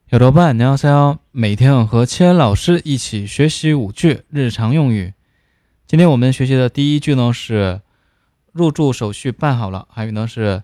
여러분 안녕하세요，每天和千老师一起学习5句日常用语。今天我们学习的第一句呢是入住手续办好了，还有呢是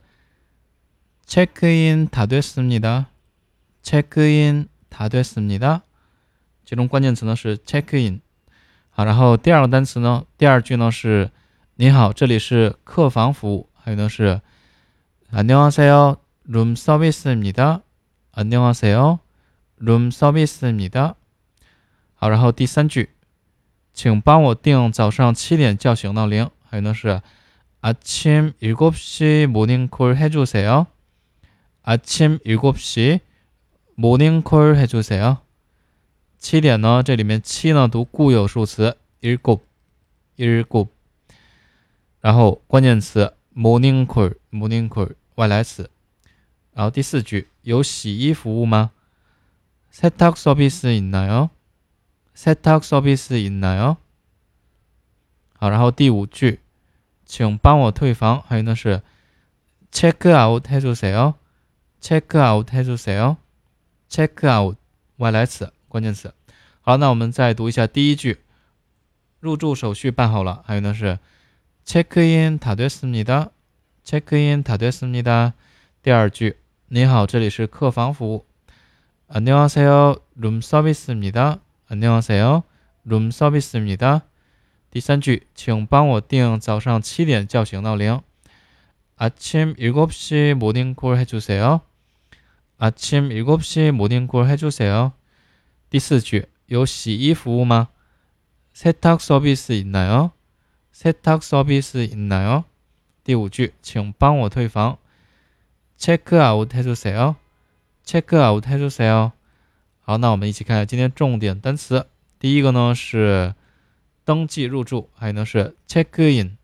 체크인 다 됐습니다。체크인 다 됐습니다。其中关键词呢是 체크인。好，然后第二个单词呢，第二句呢是你好，这里是客房服务，还有呢是 안녕하세요 룸 서비스입니다。안녕하세요 룸 서비스입니다。好，然后第三句，请帮我定早上7点叫醒闹铃，还有呢是 아침 7시 모닝콜 해주세요。 아침 7시 모닝콜 해주세요。 7点呢，这里面7呢读固有数词 일곱， 然后关键词 모닝콜 外来词。然后第四句，有洗衣服务吗？ 세탁 서비스 있나요? 세탁 서비스 있나요? 好，然后第五句，请帮我退房，还有呢是 체크아웃 해주세요. 체크아웃 해주세요. 체크아웃外来词关键词。好，那我们再读一下第一句，入住手续办好了，还有呢是 체크인 다 됐습니다. 체크인 다 됐습니다. 第二句，你好，这里是客房服务。안녕하세요 룸 서비스입니다. 안녕하세요 룸 서비스입니다. 第三句，请帮我定早上7点叫醒闹铃。아침 7시 모닝콜 해주세요. 아침 7시 모닝콜 해주세요. 第四句，有洗衣服务吗？ 세탁 서비스 있나요? 세탁 서비스 있나요? 第五句，请帮我退房。체크아웃 해주세요. 체크아웃 해주세요. 好，那我们一起看一下今天重点单词。第一个呢是登记入住，还有呢是 체크인，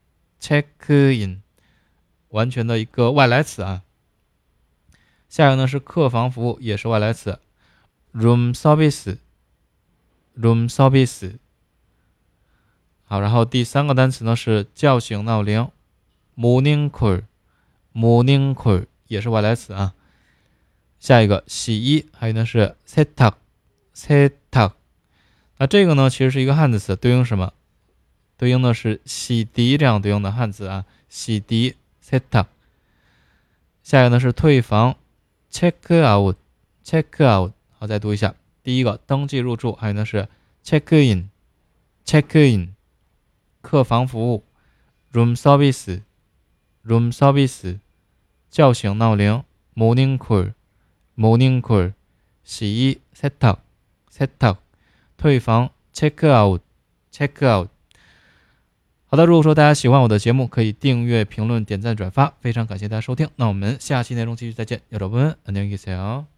完全的一个外来词啊。下一个呢是客房服务，也是外来词 room service。 好，然后第三个单词呢是叫醒闹铃 morning call， 也是外来词啊。下一个洗衣，还有呢是 세탁。 那这个呢其实是一个汉字词，对应什么？对应的是洗涤这样对应的汉字啊，洗涤 세탁。 下一个呢是退房 체크아웃。 好，再读一下。第一个登记入住，还有呢是 체크인， 客房服务 room service， 叫醒闹铃 morning call， 洗衣 세탁， 退房 체크아웃。 好的，如果说大家喜欢我的节目，可以订阅、评论、点赞、转发，非常感谢大家收听。那我们下期内容继续再见，여러분 안녕히 계세요。